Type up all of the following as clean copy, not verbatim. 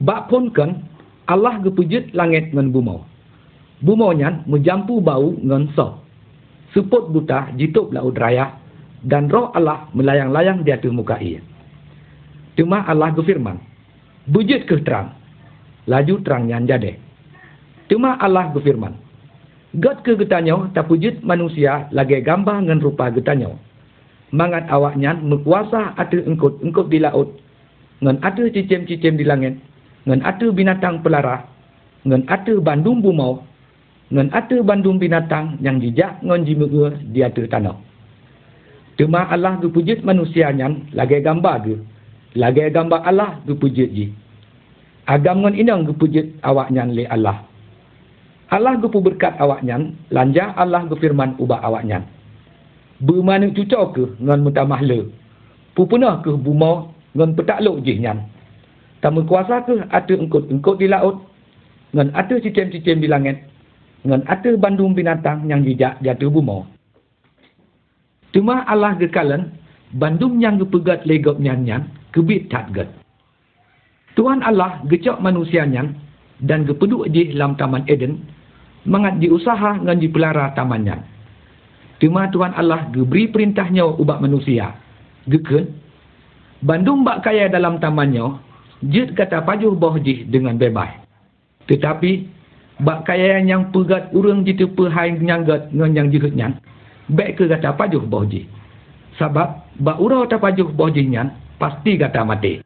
Bak pun kan Allah gepujit langit ngan bumau. Bumau nyan menjampu bau ngan sok. Suput buta jitup laut raya dan roh Allah melayang-layang di atas muka ia. Cuma Allah berfirman, bujit ke terang. Laju terang nyan jadi. Cuma Allah berfirman, God ke getanyo tak pujit manusia lagi gambar ngan rupa getanyo. Mangat awak nyan berkuasa ada engkut di laut, ngan ada cicim-cicim di langit, ngan ada binatang pelara, ngan ada bandung bumau, ngan ada bandung binatang yang jijak ngan jimeur di atas tanah. Cuma Allah gepujit manusia nyan lagi gambar ge. Lagi gambar Allah gepujit ji. Agam ngan inang gepujit awak nyan le Allah. Allah gepu berkat awak nyan, lanja Allah gefirman ubah awak nyan. Bermana cucok ke ngan mutamah le. Pupunah ke bumau ngan petakluk jih nyan. Tamu kuasa ke ada engkut di laut, ngan ada cicim-cicim di langit, ngan ada bandung binatang yang jijak di atas bumau. Cuma Allah gekalan, bandung yang gepegat legop nyan kebit tak get. Tuhan Allah gecok manusia nyan dan gepeduk di dalam taman Eden, mangat diusaha ngan dipelara taman nyan. Cuma Tuhan Allah geberi perintahnya ubak manusia. Geken, bandung bak kaya dalam tamannya, jid kata pajuh boh jih dengan bebas. Tetapi, bak kaya yang pegat urang jitu pehai nyanggat ngan yang jihut nyan, baik ke kata pajuh boh jih. Sebab, bak urau tak pajuh boh jih nyan, pasti kata mati.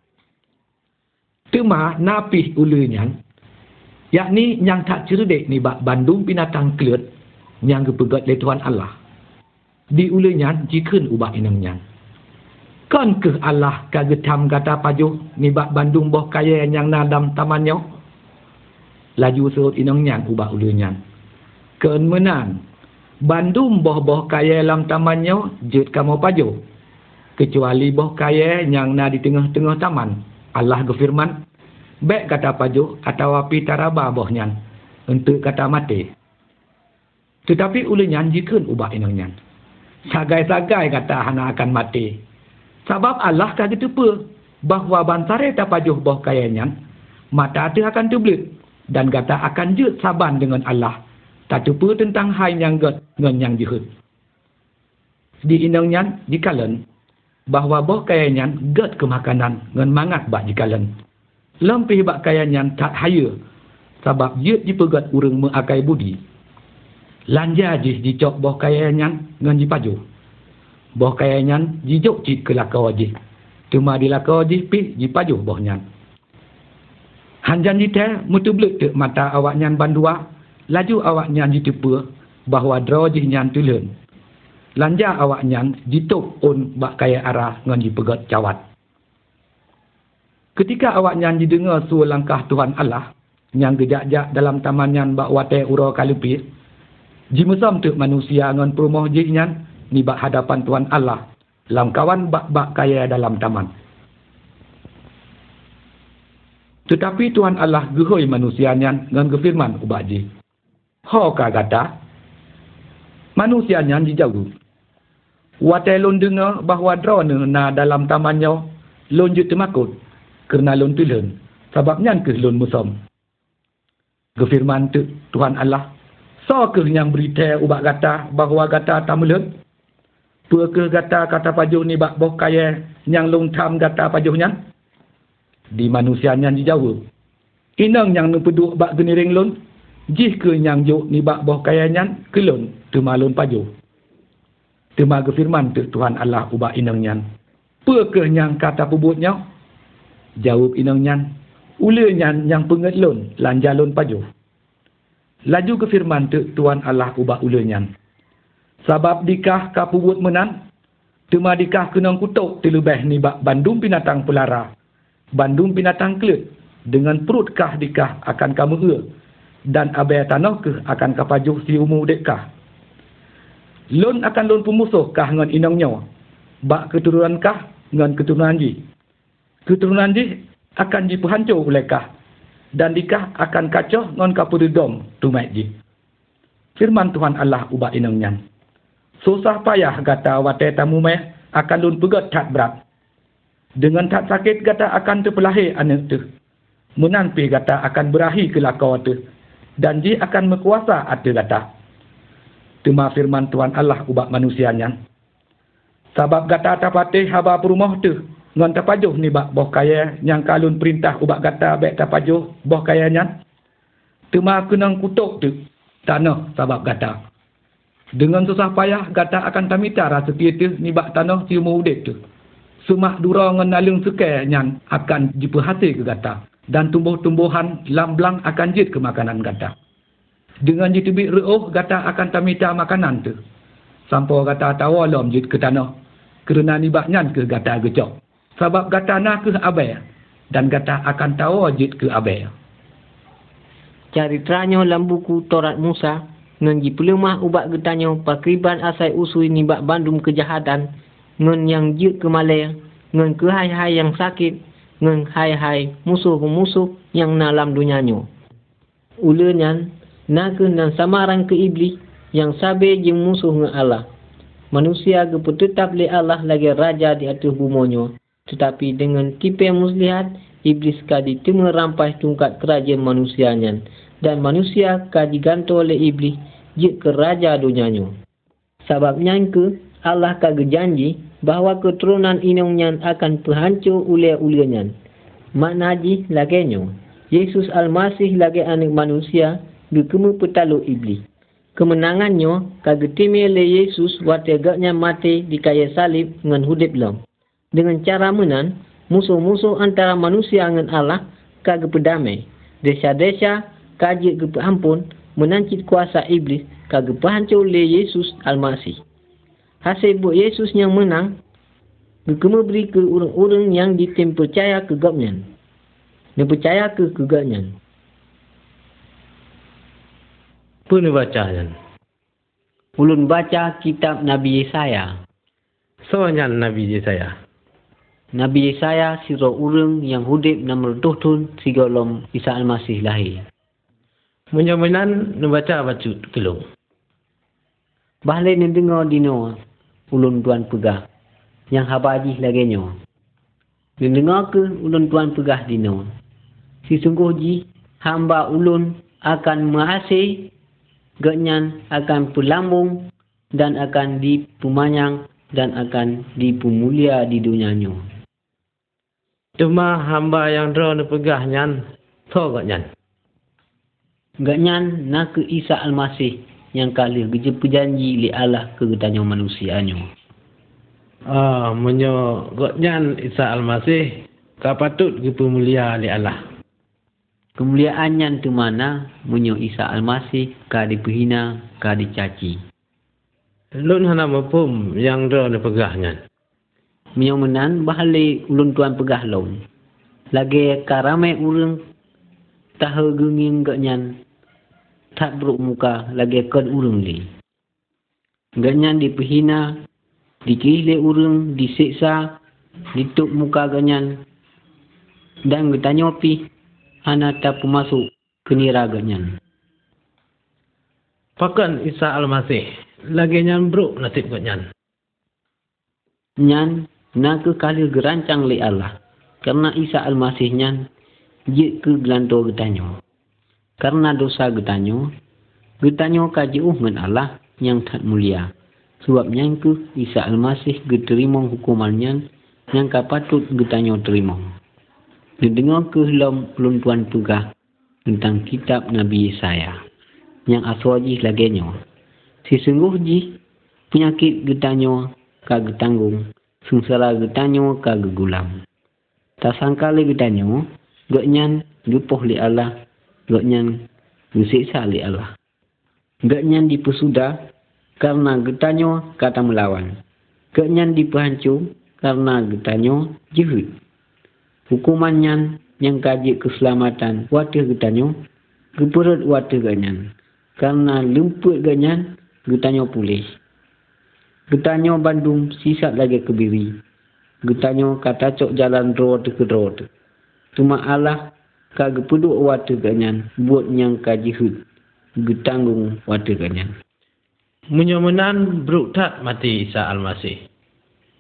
Cuma napih ulu nyan, yakni yang tak cerdik ni bak bandung binatang kelut, yang gepegat le Tuhan Allah. Di ulu nyan, jikun ubah inang nyan. Kan ke Allah kagetam kata pajuh ni bak bandung boh kaya yang nadam tamannya. Laju surut inang nyan ubah ulu nyan. Kan menan. Bandung boh kaya dalam tamannya jut kamu pajuh. Kecuali boh kaya yang na di tengah-tengah taman. Allah berfirman, baik kata pajuh atau api taraba boh nyan. Untuk kata mati. Tetapi ulu nyan jikun ubah inang nyan. Sagai-sagai kata hana akan mati. Sebab Allah kata tepa bahawa bantare tapajuh boh kayanya, mata tu akan terbelit dan kata akan jut saban dengan Allah. Tak tepa tentang hai yang get dengan yang jihut. Di inangnya dikalan bahawa boh kayanya get ke makanan dengan mangat bak dikalan. Lempih bak kayanya tak haya sebab jut dipegat urang mengakai budi. Lanja jih dicok boh kayanya dengan jipajuh. Boh kayanya jijuk cik ke lakau jih. Cuma di lakau jih pi jipajuh boh nyan. Hanjan jite mutu belut ke mata awak nyan bandua. Laju awak nyan jitepa bahawa draw jih nyan tulen. Lanja awak nyan jituk on bak kaya arah ngan jipegat cawat. Ketika awak nyan didengar suara langkah Tuhan Allah yang gejak-jak dalam taman nyan bak watai ura kalupis, jimusam tu manusia ngan perumoh jih nyan ni bak hadapan Tuhan Allah lam kawan bak kaya dalam taman. Tetapi Tuhan Allah gehoi manusia nyan ngan gefirman ubak jih. Ho ka kata manusia nyan dijauh. Watai lon dengar bahawa drone na dalam tamannya lon jut temakut kerana lon tulen sebab nyan ke lon musom. Gefirman tu Tuhan Allah, so ke yang berita ubak kata bahawa kata tamulen? Peke kata pajuh ni bak boh kaya yang long tam kata pajuhnya? Di manusianya dijawab. Inang yang nupeduk bak geniring lon, jih ke yang juk ni bak boh kayanya ke lon, tuma lon pajuh. Tuma gefirman tu Tuhan Allah ubak inangnya. Peke yang kata pebutnya? Jawab inangnya, ulanya yang penget lon, lanja lon pajuh. Laju gefirman tu Tuhan Allah ubak ulanya. Sebab dikah kapubut menan, cuma dikah kenang kutuk terlebih ni bak bandung binatang pelara, bandung binatang kelut, dengan perut kah dikah akan kamu dan abai tanah ke akan kapajuh si umur dekkah. Lon akan lon pemusuh kah ngan inangnya, bak keturunan kah ngan keturunan ji. Keturunan ji akan dipehancur oleh kah, dan dikah akan kacau ngan kapududom tumai ji. Firman Tuhan Allah ubak inangnya. Susah payah kata watai tamu meh akan lun pegat tak berat. Dengan tak sakit kata akan terpelahir anak tu. Munan pi gata akan berahi ke lakau tu. Dan ji akan mekuasa ate gata. Tuma firman Tuhan Allah ubak manusianya. Sabab gata tapatih haba perumah tu. Ngon tapajuh ni bak boh kaya yang kalun perintah ubak gata bek tapajuh boh kayanya. Tuma kenang kutuk tu tanah sabab gata. Dengan susah payah gata akan tamita rasa tu ni bak tanah cium udip tu. Sumak dura ngan nalung sukai nyan akan diperhasil ke gata. Dan tumbuh-tumbuhan lamblang akan jid ke makanan gata. Dengan jitubik reuh gata akan tamita makanan tu. Sampai gata tawalom jid ke tanah. Kerana nibak nyan ke gata gecok. Sebab gata nak ke abai. Dan gata akan tawa jid ke abai. Caritranya dalam buku Taurat Musa. Ngan ji pelemah ubat getanya pakriban asai usui nibak bandum kejahatan. Ngan yang jid ke malai. Ngan ke hai-hai yang sakit. Ngan hai-hai musuh-musuh yang dalam dunianya. Ulenyan nak nan samaran ke iblis yang sabe jeng musuh ngan Allah. Manusia gepu tetap le Allah lagi raja di atas bumonyo. Tetapi dengan tipe muslihat, iblis kadi tengah rampai tungkat kerajaan manusianya. Dan manusia kadi ganto oleh iblis jik ke raja dunianya. Sebabnya ke Allah kage janji bahawa keturunan inongnya akan terhancur oleh-olehnya. Makna ji lagenya. Yesus Al-Masih lagi anak manusia gekemu petalu iblis. Kemenangannya kage timi oleh Yesus wategaknya mati di kayu salib dengan hudip lam. Dengan cara menan, musuh-musuh antara manusia dengan Allah kage pedamai. Desa-desa kage gepahampun menancit kuasa iblis kage pahancur oleh Yesus Al-Masih. Hasil buat Yesus yang menang, gekemu beri ke orang-orang yang ditim percaya ke gapnya. Dan percaya ke kegaknya. Apa ni bacanya? Ulun baca kitab Nabi Yesaya. Soalnya Nabi Yesaya. Nabi Yesaya siro orang yang hudip nomor tuhun sigolom Isa Al-Masih lahir. Menyamanan membaca bacut kelong. Bahlai ni dengar dino ulun tuan pegah yang habaji lagenya. Ni dengar ke ulun tuan pegah dino. Si sungguh ji hamba ulun akan mengasihi, genyan akan pelambung dan akan dipemanyang dan akan dipemulia di dunianya. Cuma hamba yang draw ni pegah nyan, so genyan. Genyan nak ke Isa Al-Masih yang kali geje perjanji li Allah ke getanya manusianya. Menyo genyan Isa Al-Masih kapatut ke pemulia li Allah. Kemuliaannya tu mana menyo Isa Al-Masih ka dipehina ka dicaci. Lun hana mapum yang draw ni pegah nyan. Menyo menan bahale ulun tuan pegah laun. Lagi karame urang tahu genging genyan tak beruk muka lagi kan urang li. Genyan dipehina, dikilih urang, disiksa, dituk muka genyan. Dan getanya pi hana tak masuk ke nira genyan. Pakan Isa Al-Masih lagi nyan beruk nasib genyan. Nyan nak ke kali gerancang li Allah. Karena Isa Al-Masih nyan jik ke gelanto getanya. Karena dosa getanya kaji dengan Allah yang tak mulia. Sebabnya ke Isa Al-Masih geterima hukumannya yang kapatut getanya terima. Didengar ke dalam peluntuan pegah tentang kitab Nabi Yesaya yang aswaji lagenya. Sesungguh ji penyakit getanya kage tanggung, sengsara getanya kage gulam. Tak sangka le getanya genyan gepoh li Allah, genyan gesiksa li Allah. Genyan dipesudah karena getanya kata melawan. Genyan dipehancur karena getanya jihud. Hukumannya yang kaji keselamatan watih getanya geperut watih genyan. Karena lemput genyan getanya pulih. Getanya bandung sisat lagi kebiri. Getanya kata cok jalan road ke road. Cuma Allah kage peduk watih genyan buat yang kaji hud. Getanggung watih genyan. Menyamanan beruk tak mati Isa Al-Masih.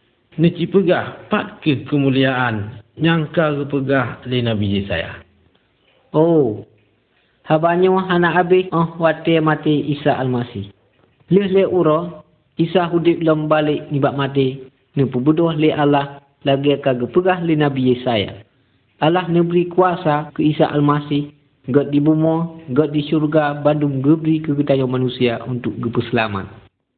Nici pegah pat ke kemuliaan yang kage pegah li Nabi Yesaya. Oh, habanyo hana abis wate mati Isa Almasih. Le uro Isa hudip lom balik nibak mati. Nepubudoh le Allah lagi kagak pegah le Nabi Yesaya. Allah neberi kuasa ke Isa Almasih. God di bumi, God di syurga, bandung geberi ke kita manusia untuk gepu selamat.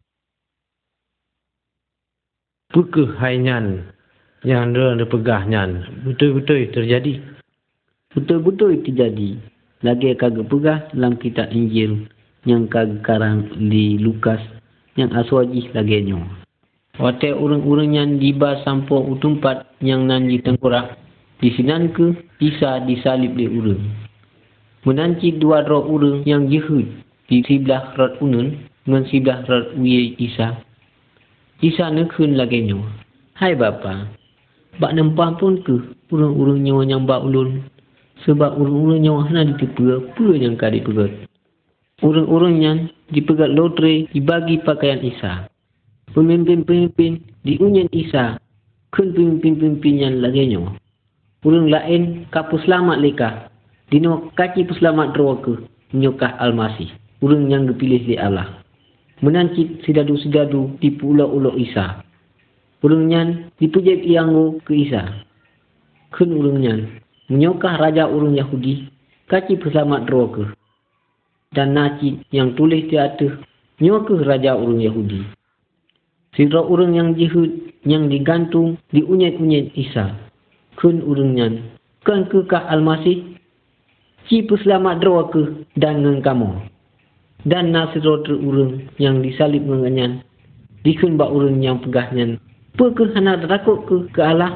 Perkehainan yang dia pegahnya betul-betul terjadi. Betul-betul terjadi. Lagi kagak pegah dalam kitab Injil yang kagak karang di Lukas yang aswajih laginya. Wate urang-urang yang diba sampo utumpat yang nanji tengkorak. Di sinan ke Isa disalib di urang. Menanci dua roh urang yang jehud di sebelah rot unun dengan sebelah rot uye Isa. Isa nekun laginya. Hai Bapa, bak nempah pun ke urang-urang nyawa yang bak ulun. Sebab urang-urang nyawa hana ditepegat, apa yang kadi pegat. Urang-urang yang dipegat lotre dibagi pakaian Isa. Pemimpin-pemimpin diunyan Isa. Kun pemimpin-pemimpin yang laginya. Urang lain kapu selamat leka. Dino kaki peselamat roh ke menyokah Almasih. Urang yang dipilih di Allah. Menancit sidadu-sidadu di pulau-ulau Isa. Urang yang dipujat ianggo ke Isa. Kun urang yang menyokah raja urang Yahudi. Kaki peselamat roh ke. Dan nacit yang tulis di atas menyokah raja urang Yahudi. Sidra urang yang jihud yang digantung di unyat-unyat Isa. Kun urang yang kan kekah Almasih. Ci peselamat roh ke dan ngen kamu. Dan nasiro terurang yang disalib ngenganyan. Dikun bak urang yang pegahnya. Pekeh hana takut ke Allah.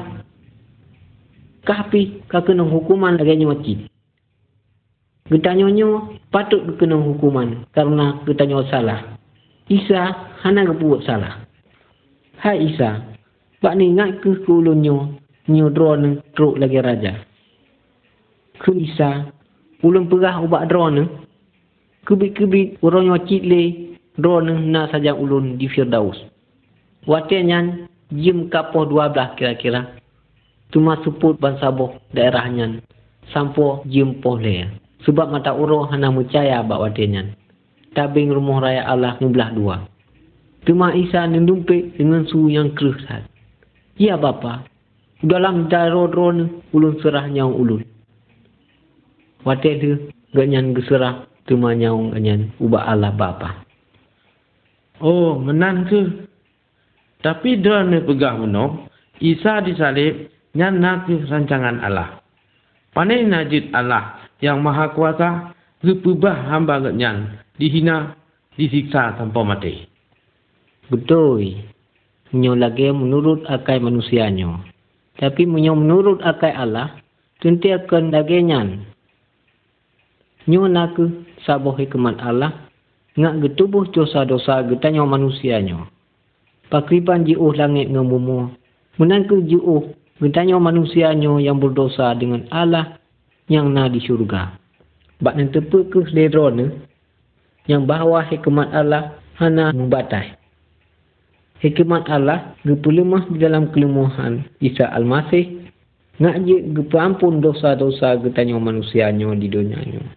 Kahpi kena hukuman laganya wajib. Getanyonyo patut kena hukuman karena getanyo salah. Isa hana kebuat salah. Hai Isa, bak ni ngat ke ulunyo nyodro neng truk lagi raja. Ke Isa ulun pegah ubak drone kebit-kebit orang nyocit le drone na saja ulun di Firdaus. Watenya jam kapoh 12 kira-kira. Cuma suput bansaboh daerahnya sampo jam poh le. Sebab mata uro hana percaya bak watenya. Tabing rumah raya Allah membelah dua. Cuma Isa nendumpik dengan suhu yang keruh. Ya Bapa, dalam daerah drone ulun serah nyawa ulun. Wate tu ganyan geserah cuma nyaung ganyan ubah Allah Bapa. Oh, menan ke. Tapi dia ni pegah menong, Isa disalib nyana ke rancangan Allah. Panai najid Allah yang maha kuasa, gepubah hamba ganyan, dihina, disiksa tanpa mati. Betul. Menyo lagi menurut akal manusianya. Tapi menurut akal Allah, tentu akan laginya. Nyo nak saboh hikmat Allah ngak getubuh dosa-dosa getanya manusianya. Pakriban jiuh langit ngemumu. Menangku jiuh getanya manusianya yang berdosa dengan Allah yang na di syurga. Bak nan tepe ke ledrone yang bahawa hikmat Allah hana membatai. Hikmat Allah gepelemah di dalam kelemahan Isa Almasih ngak je gepampun dosa-dosa getanya manusianya di dunianya.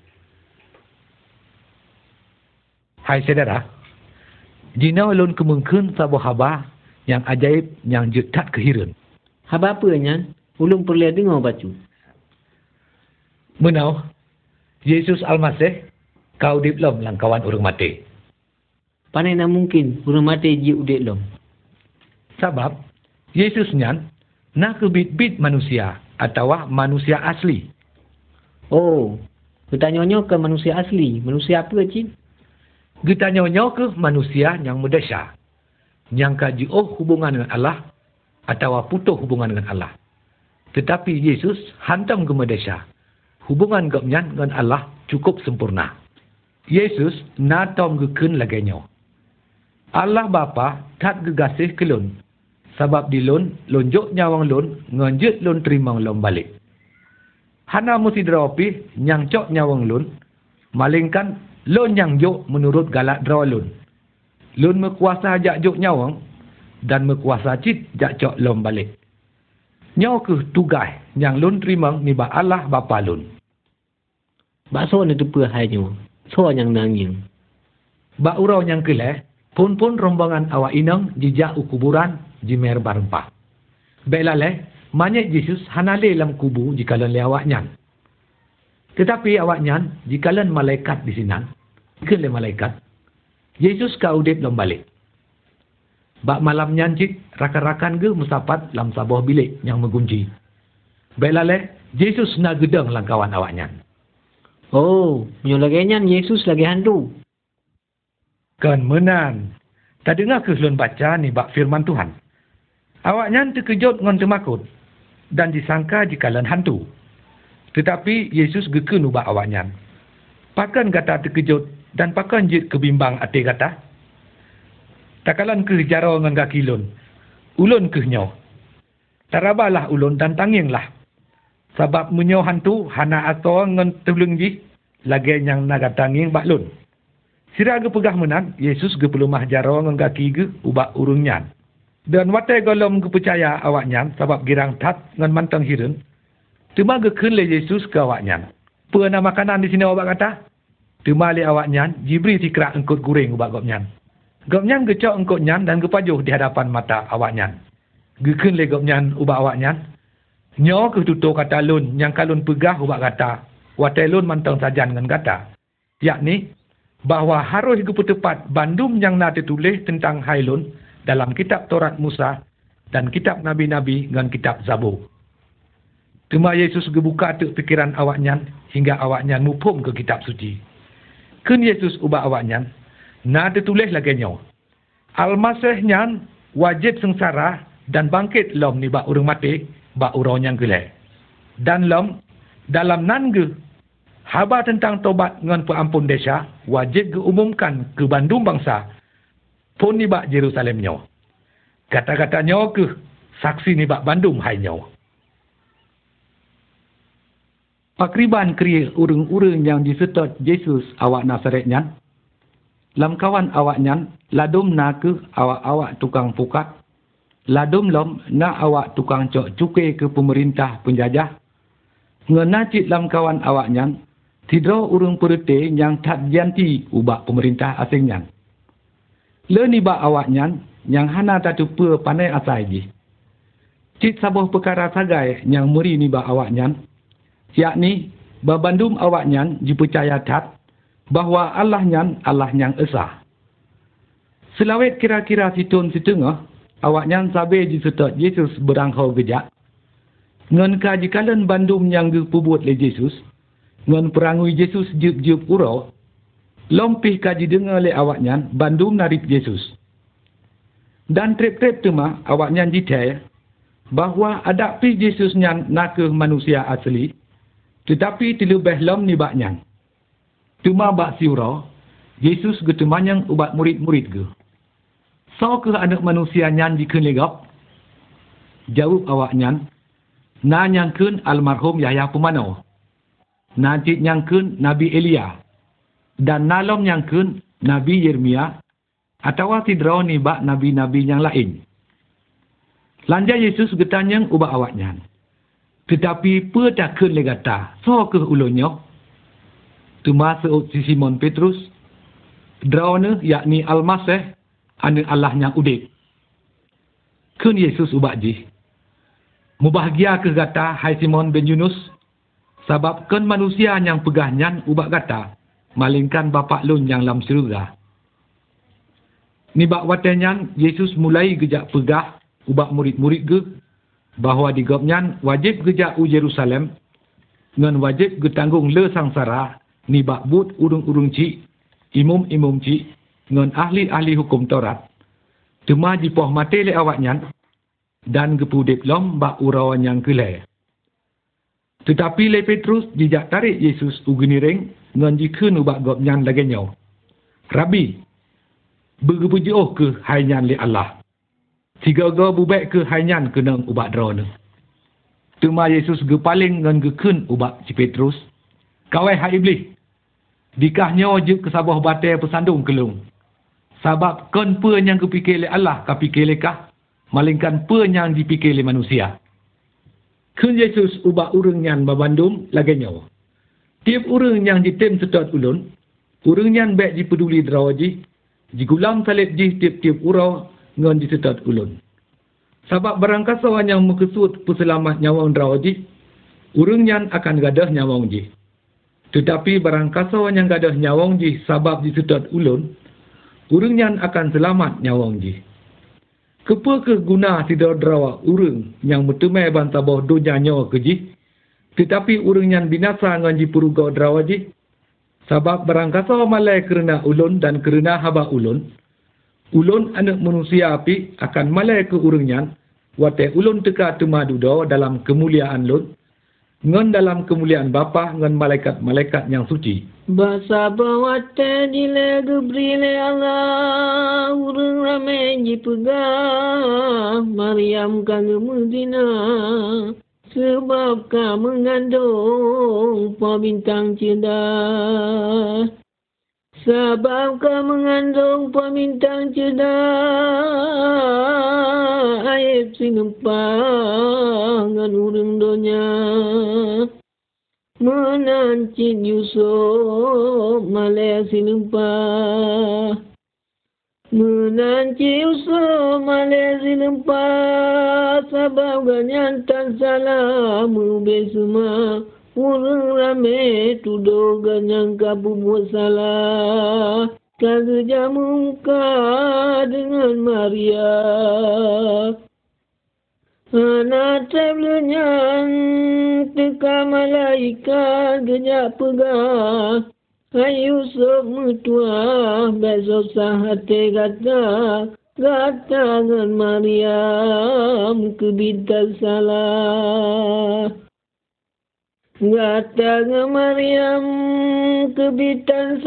Hai saudara, jina ulun kemungkin sabuh haba yang ajaib yang jetat kehiran. Haba apa nya? Ulun perlu dengar baca. Menau, Yesus Almasih kau diplom langkawan orang mati. Panai nak mungkin orang mati je udik lom. Sebab Yesus nyan nak kebit-bit manusia atau manusia asli. Oh, bertanya-tanya ke manusia asli. Manusia apa cik? Getanya-nya ke manusia yang merdesa. Yang kajiuh hubungan dengan Allah atau putus hubungan dengan Allah. Tetapi Yesus hantam ke merdesa. Hubungan gapnya dengan Allah cukup sempurna. Yesus natom geken laganya. Allah Bapa tak gegasih ke lun. Sebab di lun, lonjok nyawang lun, nganjut lun terima lun balik. Hana mesti derapi nyangcok nyawang lun, malingkan lun yang jok menurut galak draw lun. Lun mekuasa jak jok nyawang dan mekuasa cit jak cok lun balik. Nyaw ke tugas yang lun terima niba Allah Bapa lun. Bakso ni tepa hainyo. So yang nanging. Bak urau yang keleh, pun rombongan awak inang jejak kuburan jimer barempah. Belale, manyek Yesus hanale lam kubu jikalan le awak nyan. Tetapi awak nyan jikalan malaikat di sinan. Ke le malaikat. Yesus ka udip lam balik. Bak malam nyan jik rakan-rakan ge musapat lam sabuh bilik yang mengunci. Belale, Yesus na gedeng langkawan awak nyan. Oh, nyo lagi nyan Yesus lagi hantu. Kan menan. Tak dengar ke selun baca ni bak firman Tuhan. Awak nyan terkejut ngon temakut. Dan disangka jikalan hantu. Tetapi Yesus geken ubak awak nyan. Pakan kata terkejut dan pakan jit kebimbang ati kata. Takalan ke jaro ngan kaki ulun. Ulun ke nyo. Tarabalah ulun dan tanginglah. Sebab menyo hantu hana ato ngan tebelung ji. Lagi yang naga tanging bak lun. Sira ge pegah menang, Yesus ge pelumah jaro ngan kaki ge ubak urung nyan. Dan watai golom ge percaya awak nyan sebab girang tat ngan mantang hiren. Tuma ge ken le Yesus ke awak nyan. Pena makanan di sini awak kata? Tuma le awak nyan jibri tikrak engkut goreng ubak gop nyan. Gop nyan ge cok engkut nyan dan ge pajuh di hadapan mata awak nyan. Ge ken le gop nyan ubak awak nyan. Nyo ke tutur kata lun yang kalun pegah ubak kata. Watai lun mantang sajan ngan kata. Yakni bahawa harus kepetepat bandum yang nak tertulis tentang Hailun dalam kitab Taurat Musa dan kitab Nabi-Nabi dan kitab Zabur. Cuma Yesus gebuka tu fikiran awak nyan hingga awak nyan mupum ke kitab suci. Ken Yesus ubah awak nyan, nak tertulis lagi nyo. Al-Masih nyan wajib sengsara dan bangkit lom ni bak urang mati, bak urau nyan gelai. Dan lom dalam nan ge haba tentang tobat ngan peampun desa wajib diumumkan ke bandung bangsa pun ni bak Jerusalem nyo. Kata-kata nyo ke saksi ni bak bandung hai nyo. Pakriban kriya urang-urang yang disetot Yesus awak Nazaret nyan. Lam kawan awak nyan ladum na ke awak-awak tukang pukat. Ladum lom na awak tukang cok cukai ke pemerintah penjajah. Ngenacit lam kawan awak nyan tidro urang perete yang tak janti ubak pemerintah asing nyan. Le ni bak awak nyan yang hana tak tupa panai asai ji. Cit sabuh perkara sagai yang muri ni bak awak nyan. Yakni babandum awak nyan dipercaya tat bahawa Allah nyan Allah yang esa. Selawet kira-kira situn setengah awak nyan sabe disetot Yesus beranghau gejak. Ngan kajikalan bandum yang dipubuat le Yesus. Ngan perangui Yesus jup-jup urau, lompih kaji dengar le awak nyan, bandum narip Yesus. Dan trip-trip tema awak nyan jitai, bahawa adapi Yesus nyan nak manusia asli, tetapi terlebih lom ni bak nyan. Cuma bak si urau, Yesus getemanyang ubat murid-murid ge. So ke anak manusia nyan diken legap? Jawab awak nyan, na nyangken almarhum Yahya Pemano. Najib nyangkun Nabi Elia dan nalom nyangkun Nabi Yeremia atau tidro ni bak nabi-nabi yang lain. Lanja Yesus getanyang ubak awaknya. Tetapi pedakun legata so ke ulunyo. Tuma seut si Simon Petrus drone yakni Al-Masih anu Allah yang udip. Kun Yesus ubak ji. Mubahagia ke gata hai Simon bin Yunus. Sebab kan manusia yang pegah nyan ubak kata, malingkan bapak lun yang lam syurga. Ni bak watenyan, Yesus mulai gejak pegah ubak murid-murid ge, bahawa di gop nyan wajib gejak u Jerusalem, ngan wajib getanggung le sangsara, ni bak but urung-urung cik, imum-imum cik, ngan ahli-ahli hukum Taurat. Cuma jipoh mati le awak nyan, dan gepudip lom bak urawan yang kelai. Tetapi le Petrus dijak tarik Yesus ugeniring ngan jikeun ubak gop nyan lagi nyaw. Rabi, begepujoh ke hai nyan le Allah. Tiga-ga bubek ke hai nyan kenang ubak drone. Tuma Yesus gepaling ngan gekeun ubak si Petrus. Kawai hai iblis. Dikah nyaw je ke sabah batai pesandung kelung. Sabab kon pe yang kepikir le Allah ka pikir le kah, malingkan pe yang dipikir le manusia. Kun Yesus ubak urang nyan babandum lagi nyawa. Tiap urang yang jitim sedot ulun, urang nyan baik dipeduli derawaji, jigulam salib ji tiap-tiap urau ngon disedot ulun. Sebab barang kasawan yang mekesut puselamat nyawang derawaji, urang nyan akan gadah nyawang ji. Tetapi barang kasawan yang gadah nyawang ji sabab disedot ulun, urang nyan akan selamat nyawang ji. Kepa ke guna tidak derawa urang yang metemai bantabah dunia nyawa keji, tetapi urang nyan binasa ngan ji puruga derawaji, sebab barang kasawan malai kerana ulun dan kerana haba ulun anak manusia api akan malai ke urang nyan, wate ulun teka temadudo dalam kemuliaan lun, ngan dalam kemuliaan Bapa ngan malaikat-malaikat yang suci. Basa bawate dile gebrile Allah urang ramai jipegah Maryam kang Medina sebab ka mengandung pembintang cerdas. Sebab ka mengandung pembintang cerdas ayat sinempang ngan urang donya. Menancit Yusuf malai sinempah. Menancit Yusuf malai sinempah sebab ganyan tan salah mubih semua. Urang ramai tuduh ganyang kabu buat salah. Kerja muka dengan Maria. Anak tablenyan teka malaikat gejak pegah. Yusuf mutua besok sahate gata dengan Maryam kebintan salah. Gata dengan Maryam kebintan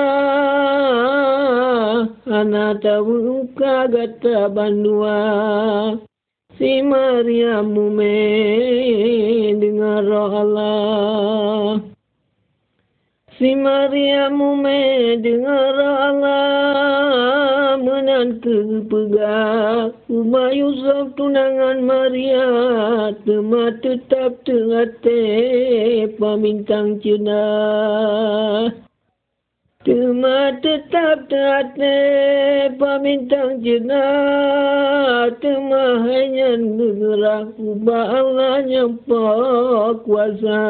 salah. Anak tabuka gata bandua. Si Maryam mume dengar roh Allah. Si Maryam mume dengar roh Allah. Menantu pegah Umar Yusuf tunangan Maria. Tema tetap tengate pamintang cerdas. Tema tetap tengate pamintang cerdas. Tema hanya bergerak ubah Allah nyampa kuasa.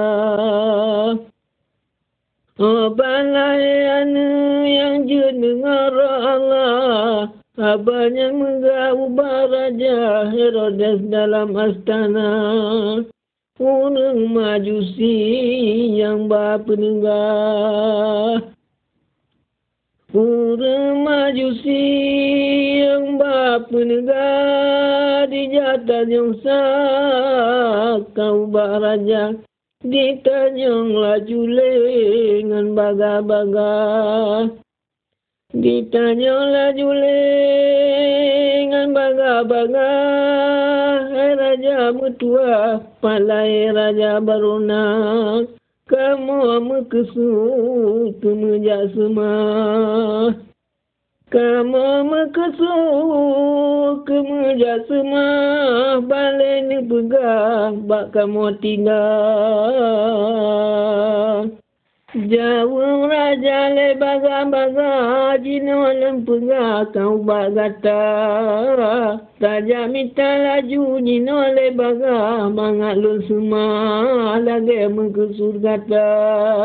Balai yang jendengar Allah. Abahnya mengubah Raja Herodes dalam astana. Urang majusi yang berpenegah. Urang majusi yang berpenegah di jatan yang sah kau baraja ditanyang laju lengan baga-baga. Ditanyang laju lengan baga-baga. Hai raja mutua palai raja barunak. Kamu mekesut kemejak semua. Kamu mekesut kemejak semua. Balai ni pegang bak kamu tinggal. Jauh raja le baga-baga. Jino lem pegang kau bak gata. Raja minta laju jino le baga. Mangat lu semua lagi mengkesur gata.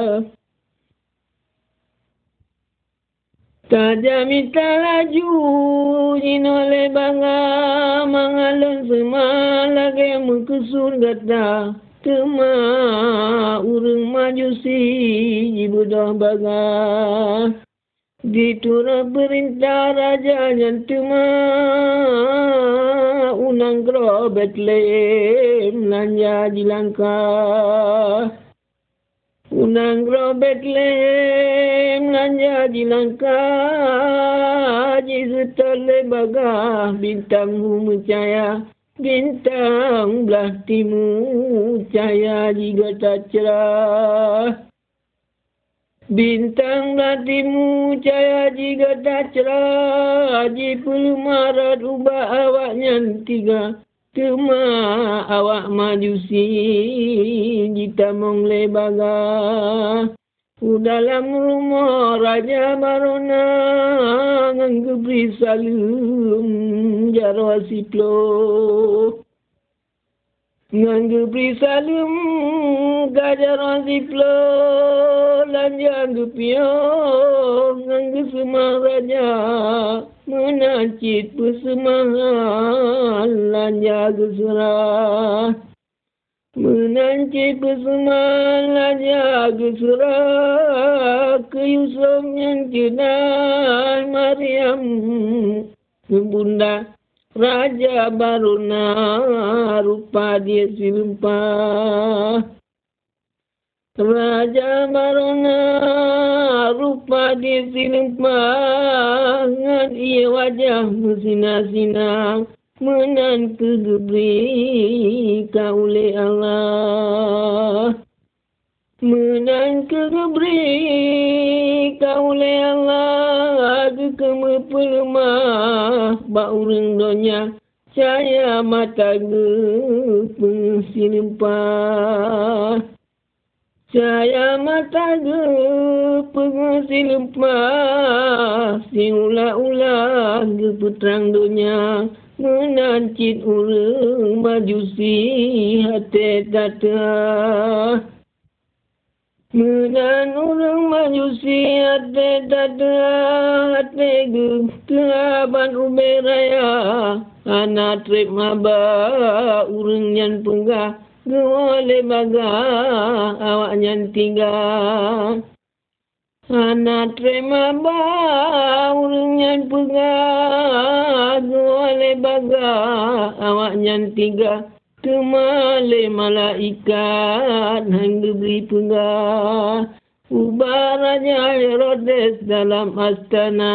Raja minta laju jino le baga. Mangat lu semua lagi mengkesur gata. Tema urang majusi jibudah baga. Diturut perintah raja yang tema unang gro Bethlehem lanja jilangka. Unang gro Bethlehem lanja jilangka. Jisutole baga bintang mencaya. Bintang belah timur cahaya jika tak cerah. Bintang belah timur cahaya jika tak cerah. Haji perlu marat ubah awaknya tiga. Kema awak majusi jita mongle baga. Dalam rumah Raja Barona nggebri salum jarwa siplo. Nggebri salum gajarwa siplo lanja ngepio nggesema raja menacit pesemah lanja geserah. Menancik pesemal aja geserah ke Yusuf yang jenah Maryam bunda Raja Barona rupa dia silempah. Raja Barona rupa dia silempah ngan ia wajah bersinar-sinar. Menan kegebri kaule Allah. Menan kegebri kaule Allah. Kekeme pelemah baureng donya. Caya mata pensilempah. Caya mata pensilempah. Si ula-ula keputrang donya. Menancit urang majusi hati tata. Menan urang majusi hati tata. Hati keaban uberaya. Anak trip maba urang nyan penggah. Gewale baga awak nyan tinggal. Anak terima urang nyan pegah oleh baga awak nyan tiga kemale malaikat hang diberi pegah ubah Raja Herodes dalam astana.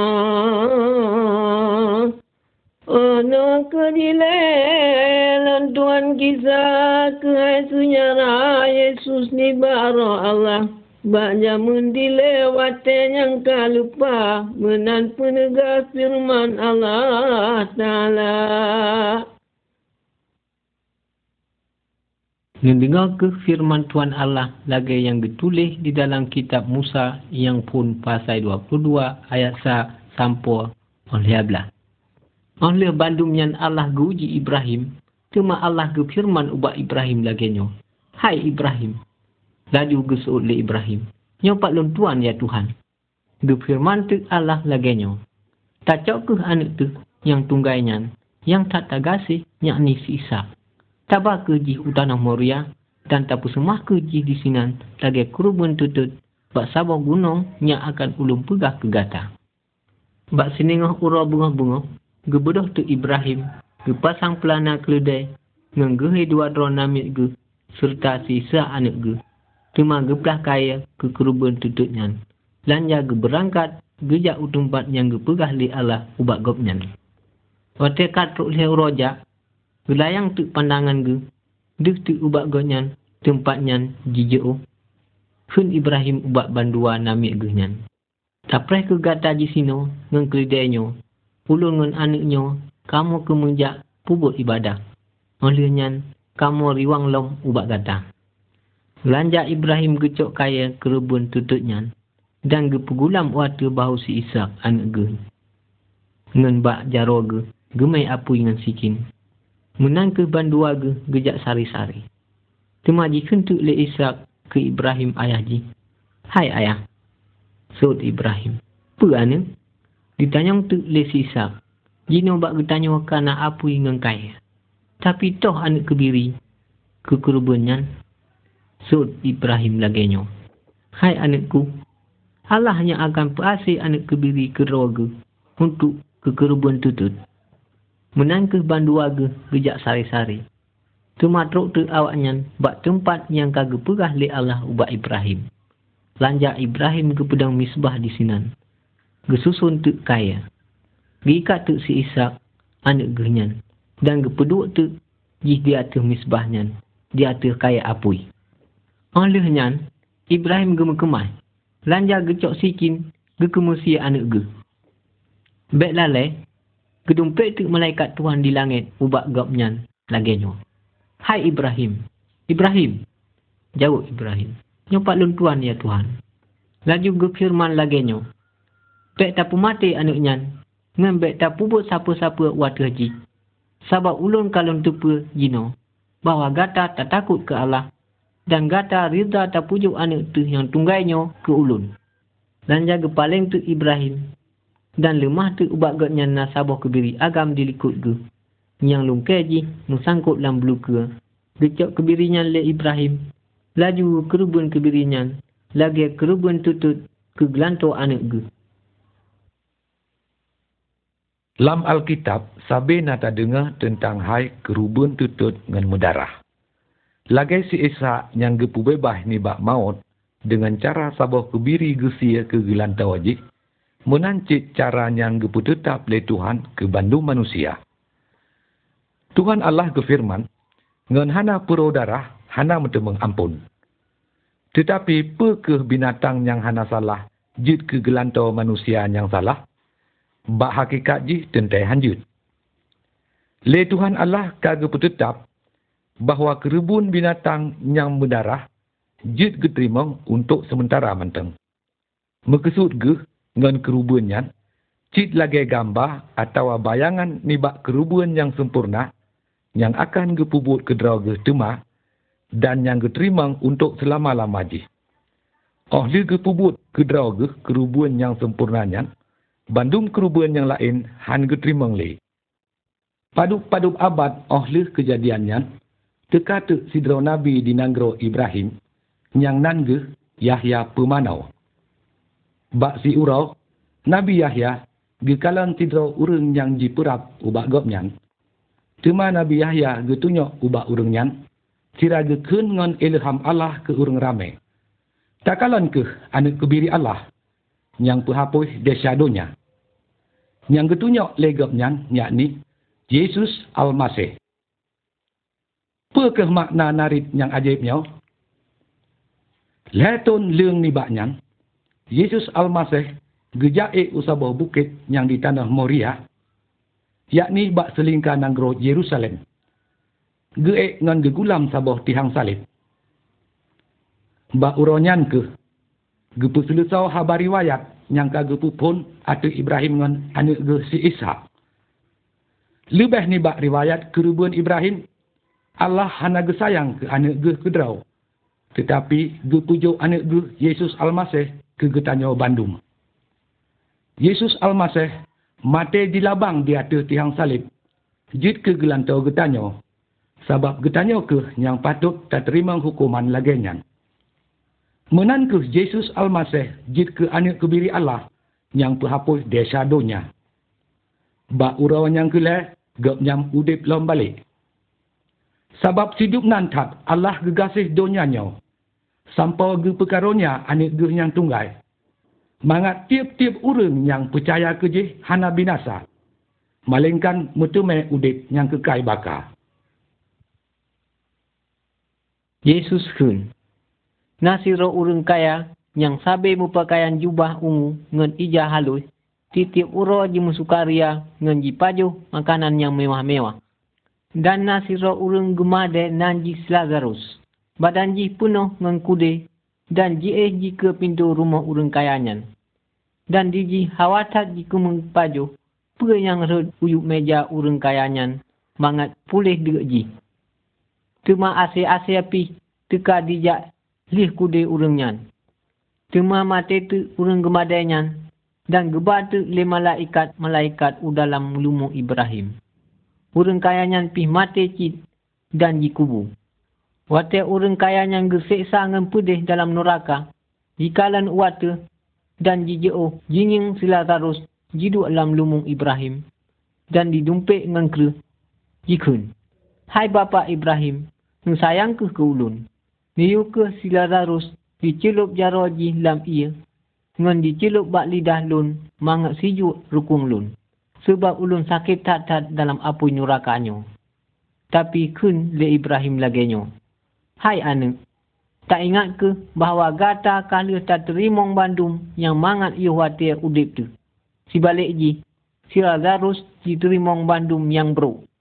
Ono kedilelan Tuhan kisah kehai senyara Yesus ni baro Allah. Banyak mendilewati yang kalupa menan penegak firman Allah Ta'ala. Mendengar ke firman Tuhan Allah lagi yang ditulis di dalam kitab Musa yang pun pasal 22 ayat 1 sampai 11. Oleh bandum yang Allah guji Ibrahim, cuma Allah ke firman ubah Ibrahim laginya. Hai Ibrahim. Laju gesut le Ibrahim. Nyopak lon Tuhan ya Tuhan. Ge firman tu Allah laginya. Tak cok ke anak tu yang tunggainya, yang tak tagasih yakni si Ishak. Tabak ke jih utanah Moria dan tapu semah ke jih di sinan lagi kurban tutut bak sabah gunung yang akan ulum pegah ke gata. Bak siningah ura bunga-bunga gebedoh tu Ibrahim ge pasang pelana keledai ngan gehe dua drone namik ge serta sisa anak ge. Cuma geplah kaya ke kurban tututnya. Lanja ge berangkat gejak utumpat yang ge pegah li Allah ubak gopnya. Wate katruk le roja gelayang tu pandangan ge deh tu ubak gopnya tempatnya jijeu. Hun Ibrahim ubak bandua namik ge nyan. Taprai ke gata di sino ngan keledainya. Ulun ngan anaknya kamu ke menjak pubut ibadah. Olehnya kamu riwang lom ubak gata. Lanja Ibrahim gecok kaya kerubun tututnya dan gepegulam waktu bahu si Ishak anak ge. Ngan bak jaro ge gemai apui ngan sikin. Menang ke bandua ge gejak sari-sari. Temaji kentuk le Ishak ke Ibrahim ayah ji. Hai ayah. Sod Ibrahim. Apa ane? Ditanyang tu le si Ishak. Jino bak getanya kana apui ngan kaya. Tapi toh anak kebiri ke kerubunnya. Sud Ibrahim laginya. Hai anakku, Allah hanya akan perasih anak kebiri ke roga untuk ke kerubun tutut. Menang ke bandua ge gejak sari-sari. Tumatruk tu awaknya bak tempat yang kagak pegah li Allah ubak Ibrahim. Lanja Ibrahim ke pedang misbah di sinan. Gesusun tu kaya. Gikat tu si Ishak anak genyan. Dan gepeduk tu jih di atas misbahnya. Di atas kaya apui. Olehnya, Ibrahim gemekemai. Lanja gecok sikin, gekemusi anak ge. Bek lalai, gedumpek tu malaikat Tuhan di langit ubak gopnya. lagenyo. Hai Ibrahim. Ibrahim. Jawab Ibrahim. Nyopak lun Tuhan ya Tuhan. Laju gefirman lagenyo. Bek tapu mati anaknya. Ngan bek tapu buat siapa-siapa waktu haji. Sabab ulun kalon tupu jino. Bahawa gata tak takut ke Allah. Dan gata rida tak pujuk anak tu yang tunggainya ke ulun. Dan jaga paling tu Ibrahim. Dan lemah tu ubak gotnya nasabah kebiri agam dilikut ke. Yang lungkai ji nusangkut dalam beluka. Gecok kebirinya le Ibrahim. Laju kerubun kebirinya. Lagi kerubun tutut ke gelanto anak ke. Dalam Alkitab, sabi nata dengar tentang hai kerubun tutut dengan mudarah. Lagi si Isa yang gepu bebah ni bak maut dengan cara sabah kebiri gesia ke gelantau wajib menancit cara yang gepu tetap le Tuhan ke bandung manusia. Tuhan Allah kefirman, ngan hana puro darah, hana metemeng ampun. Tetapi pe binatang yang hana salah, jid ke gelantau manusia yang salah, bak hakikat ji tentai hanjut. Le Tuhan Allah kage tetap bahawa kerubun binatang yang berdarah jid geterimang untuk sementara menteng. Maksud ge ngan kerubunnya cid lagi gambar atau bayangan nibak kerubun yang sempurna yang akan gepubut kedrau ge tema dan yang geterimang untuk selama-lama ji. Oleh gepubut kedrau ge kerubun yang sempurnanya bandung kerubun yang lain han geterimang le. Paduk-paduk abad oleh kejadiannya teka-tek sidrau Nabi di Nanggro Ibrahim, yang nangge Yahya pemanau. Bak si urau, Nabi Yahya, gekalan sidrau urang yang jiperap ubak gopnyan. Cuma Nabi Yahya getunyok ubak urangnya, sira gekun ngon ilham Allah ke urang ramai. Takalan ke anak kebiri Allah, yang pehapus desyadonya. Yang getunyok legopnya, yakni Yesus Al-Masih. Apakah makna narit yang ajaibnya? Letun leung nibaknya, Yesus Al-Masih gejaik usabah bukit yang di tanah Moria, yakni bak selingkah nanggro Yerusalem. Geek ngan gegulam sabah tihang salib. Bak uronyan ke, gepu selusau habar riwayat yang kagepu pun atu Ibrahim ngan anak ge si Ishak. Lebih ni bak riwayat kerubun Ibrahim, Allah hana gesayang ke anak ge kedrau. Tetapi ge pujuk anak ge Yesus Al-Masih ke getanyo bandung. Yesus Al-Masih mati di labang di atas tiang salib. Jid ke gelantau getanyo. Sebab getanyo ke yang patut tak terima hukuman laginya. Menan ke Yesus Al-Masih jid ke anak kebiri Allah yang penghapus desa donya. Bak urau yang kelai gap nyam udip lom balik. Sebab hidup nantat Allah gegasih donyanya. Sampai ge perkaronya anak ge yang tunggal. Mangat tiap-tiap orang yang percaya ke je hana binasa. Malingkan mutumai udip yang kekal bakar. Yesus kun. Nasiro urang kaya yang sabe mupakaian jubah ungu ngan ija halus. Titiap uro ji musukaria ngan ji pajuh makanan yang mewah-mewah. Dan nasiro urang gemade nan ji Lazarus. Badan ji penuh ngan kude dan ji ji ke pintu rumah urang kayanyan. Dan di ji hawatat ji kumeng pajuh. Pe yang red uyuk meja urang kayanyan. Mangat pulih dek ji. Cuma ase-ase api teka dijak lih kude urangnya. Cuma mate tu urang gemadanya. Dan gebatu le malaikat dalam lumu Ibrahim. Urang kayanyan pih mate cid dan jikubu. Wate urang kayanyan geseksa ngan pedih dalam neraka. Jikalan wate dan jijeo jinging sila tarus jidu dalam lumu Ibrahim. Dan didumpik ngan kru jikun. Hai Bapa Ibrahim, sayang ke ulun. Niu ke sila tarus dicelup jaroji lam ia. Ngan dicelup bak lidah lun, mangat sijuk rukung lun. Sebab ulun sakit tat-tat dalam apu nyurakanyo. Tapi kun le Ibrahim lagenyo. Hai anak, tak ingat ke bahawa gata kali tak terimong bandum yang mangat iu watir udip tu. Sibalik ji, si Lazarus diterimong bandum yang bro.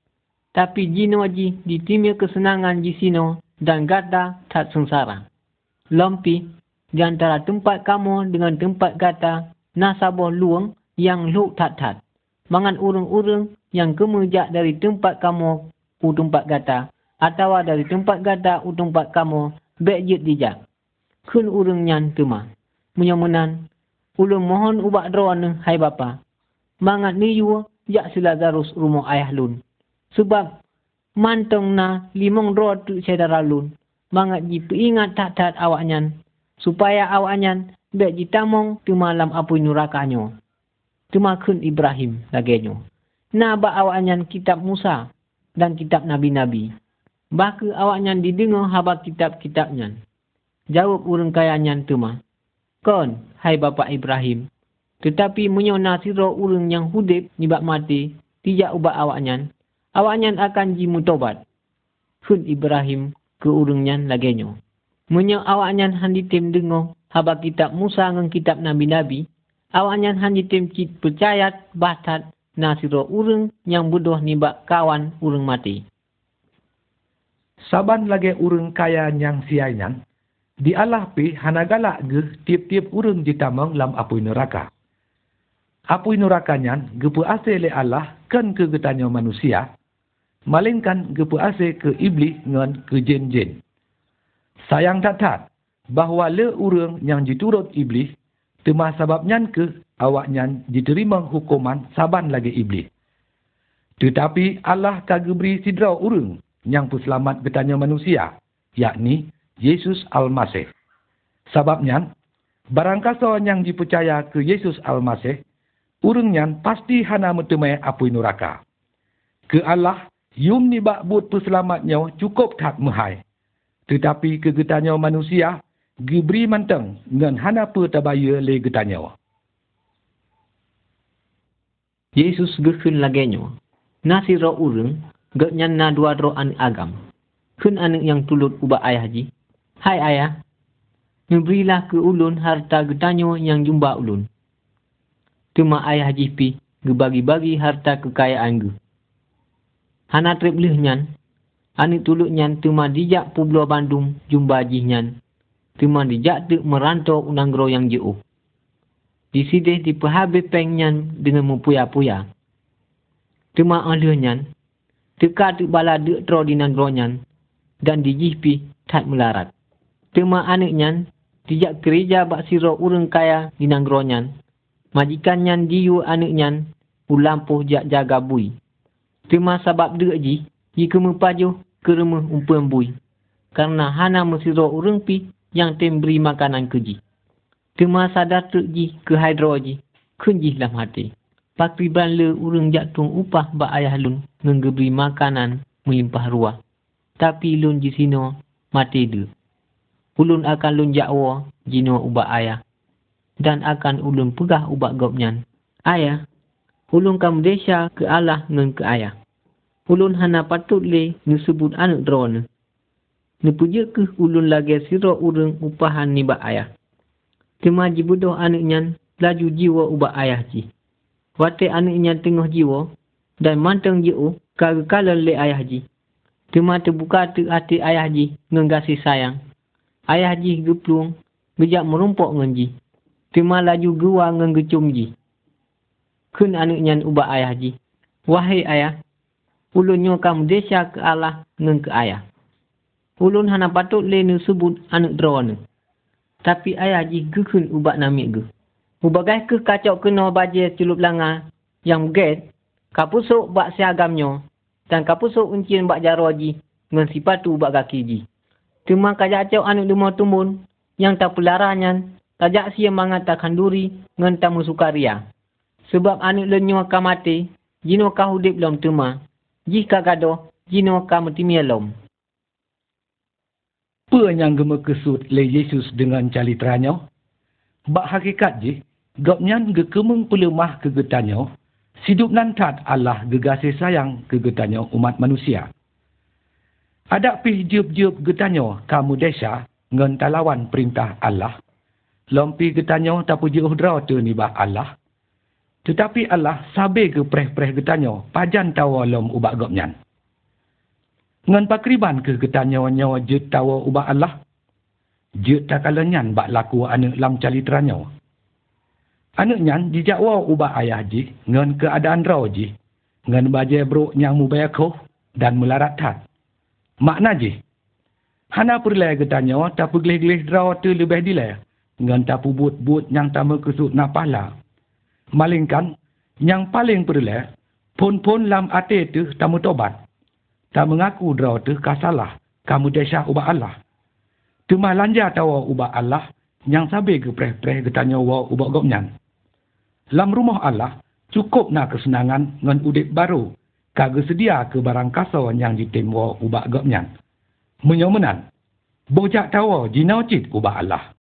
Tapi jino ji ditimia kesenangan ji sino dan gata tak sengsara. Lompi di antara tempat kamu dengan tempat gata nasabah luang yang luk tat-tat. Mangan urang-urang yang kemejak dari tempat kamu u tempat gata atau dari tempat gata u tempat kamu bejit dijak. Kun urang nyan tuma. Menyomenan ulun mohon ubak droan hai bapa. Mangat niyu jak sila garus rumah ayah lun. Sebab mantong na limong roh tu saudara lun. Mangat ji peingat tat-tat awak nyan. Supaya awak nyan bek ji tamong tu malam apui nurakanyo. Tumakun Ibrahim lagenyo. Na ba awak nyan kitab Musa dan kitab Nabi-Nabi. Baka awak nyan didengar haba kitab-kitab nyan. Jawab urang kaya nyan tuma. Kon, hai bapa Ibrahim. Tetapi menyona siro urang yang hudip nibak mati. Tijak ubak awak nyan. Awak nyan akan ji mutobat. Kun Ibrahim ke urang nyan lagenyo. Menyo awak nyan handitim dengar haba kitab Musa ngan kitab Nabi-Nabi. Awak nyan handitim cit percayat batat na siro urang yang bodoh nibak kawan urang mati. Saban lagi urang kaya yang siai nyan, di Allah pi hanagalak ge tiap-tiap urang jitamang lam apui neraka. Apui neraka nyan gepu ase le Allah kan ke getanyo manusia, malingkan gepu ase ke iblis ngan ke jin-jin. Sayang tat-tat, bahawa le urang yang diturut iblis, tema sabab nyan ke awak nyan diterima hukuman saban lagi iblis. Tetapi Allah kagak beri sidra urang yang puselamat getanya manusia, yakni Yesus Al-Masih. Sababnya, barangkasa yang dipercaya ke Yesus Al-Masih, urang nyan pasti hana metemai apui neraka. Ke Allah, yum ni bak but puselamatnya cukup tak mahai. Tetapi ke getanya manusia, diberi manteng ngan hana pe tabaya le getanya. Yesus gekun lagenyo. Nasi roh urang, gak nyan na dua roh an agam. Kun anak yang tulut ubak ayah ji. Hai ayah, memberilah ke ulun harta getanyo yang jumba ulun. Tuma ayah ji pi, gebagi-bagi harta kekayaan ge. Hana trip lih nyan, anak tulut nyan tuma dijak Pulau Bandung jumba ji nyan. Tuma dijak tu merantau unanggro yang jauh. Disidih diperhabis peng nyan dengan mempuya-puya. Tuma alih nyan, teka tu bala dek tro di nanggro nyan, dan dijihpi tak melarat. Tuma anak nyan, dijak gereja bak siro urang kaya di nanggro nyan. Majikan nyan diyu anak nyan, ulampuh jak jaga bui. Tuma sabab dek ji kemepajuh ke rumah umpuan bui. Karena hana mesiro urang pi yang tem beri makanan ke ji. Tuma sadar tuk ji ke hydro ji, kunjih lam hati. Pakriban le urang jak tung upah bak ayah lun, ngeberi makanan melimpah ruah. Tapi lun ji sino mati de. Ulun akan lun jakwa jino ubak ayah. Dan akan ulun pegah ubak gopnyan. Ayah, ulun kam desa ke Allah ngan ke ayah. Ulun hana patut le ngesebut anak drone. Nepuja ke ulun lagi siro urang upahan ni bak ayah. Tema ji bodoh anak nyan laju jiwa ubak ayah ji. Wate anak nyan tengah jiwa dan manteng jauh kagakalan le ayah ji. Tema terbuka tu hati ayah ji ngenggasih sayang. Ayah ji geplung, gejak merumpok ngan ji. Tema laju gua ngan gecum ji. Kun anak nyan ubak ayah ji. Wahai ayah, ulun nyo kamu desa ke Allah ngan ke ayah. Ulun hana patut le nu sebut anak drone. Tapi ayah ji gekun ubak namik ge. Ubagai ke kacau kena baje celup langa yang get, kapusuk bak siagamnyo dan kapusuk uncian bak jaro ji ngan sipatu ubak kaki ji. Cuma kajacau anak demau tumbun yang tak pelaranyan, tajak sia mangat takkan duri ngan tamu sukaria. Sebab anak lenyo ka mati, jino ka hudip lom tuma. Jika gadoh, jino ka metimia lom. Apa yang gema kesut le Yesus dengan calitranya? Bak hakikat je, gopnyan gekemeng pelemah kegetanyo, sidup nantat Allah gegasih sayang kegetanyo umat manusia. Ada pih jiup-jiup getanyo kamu desa ngan talawan perintah Allah. Lompi getanyo tapu jauh draw tu ni bak Allah. Tetapi Allah sabe ke preh-preh getanyo pajan tawa lom ubak gopnyan. Ngan pakriban ke getanyo-nyo jut tawa ubah Allah. Jut takalanyan bak laku anak lam calitranyo. Anak nyan dijakwa ubah ayah ji ngan keadaan raw ji. Ngan baje bro nyang mubayakoh dan melarat tat. Makna ji. Hana perlai getanyo tapu gelih-gelih raw tu lebih dilai. Ngan tapu but-but yang tamu kesut napala. Malingkan yang paling perlai pun-pun lam ate tu tamu tobat. Tak mengaku draw tu kasalah kamu desah ubah Allah. Cuma lanja tawa ubah Allah yang sabi ke preh-preh getanyo wa ubah gopnyan. Lam rumah Allah cukup nak kesenangan ngan udip baru. Kagak sedia ke barang kasar yang ditimwa ubah gopnyan. Menyomenan. Bojak tawa jinau cit ubah Allah.